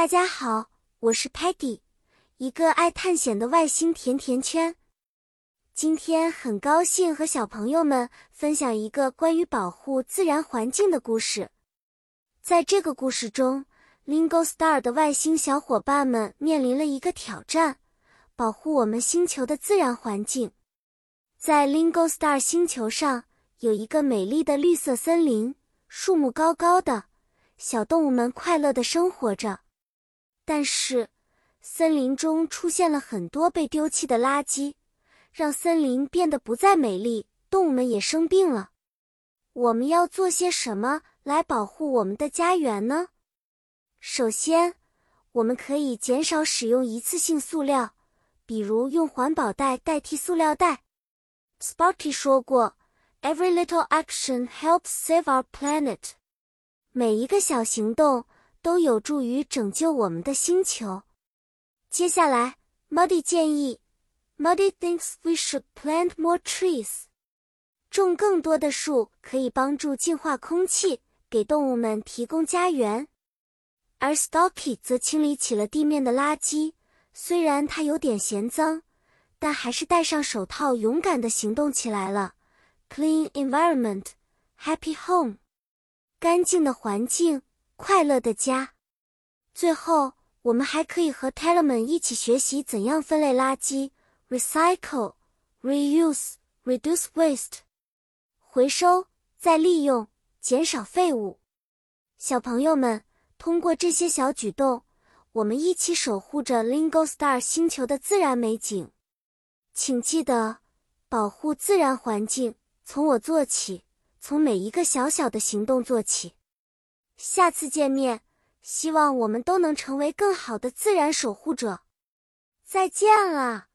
大家好，我是 Patty， 一个爱探险的外星甜甜圈。今天很高兴和小朋友们分享一个关于保护自然环境的故事。在这个故事中， Lingo Star 的外星小伙伴们面临了一个挑战，保护我们星球的自然环境。在 Lingo Star 星球上，有一个美丽的绿色森林，树木高高的，小动物们快乐地生活着。但是，森林中出现了很多被丢弃的垃圾，让森林变得不再美丽，动物们也生病了。我们要做些什么来保护我们的家园呢？首先，我们可以减少使用一次性塑料，比如用环保袋代替塑料袋。Sparky 说过 ，Every little action helps save our planet。每一个小行动都有助于拯救我们的星球。接下来 ，Muddy 建议 ，Muddy thinks we should plant more trees。种更多的树可以帮助净化空气，给动物们提供家园。而 Stalky 则清理起了地面的垃圾，虽然它有点嫌脏，但还是戴上手套，勇敢地行动起来了。Clean environment, happy home。干净的环境，快乐的家。最后，我们还可以和 Tellerman 一起学习怎样分类垃圾 ，recycle, reuse, reduce waste。回收，再利用，减少废物。小朋友们，通过这些小举动，我们一起守护着 Lingo Star 星球的自然美景。请记得，保护自然环境，从我做起。从每一个小小的行动做起。下次见面，希望我们都能成为更好的自然守护者。再见了。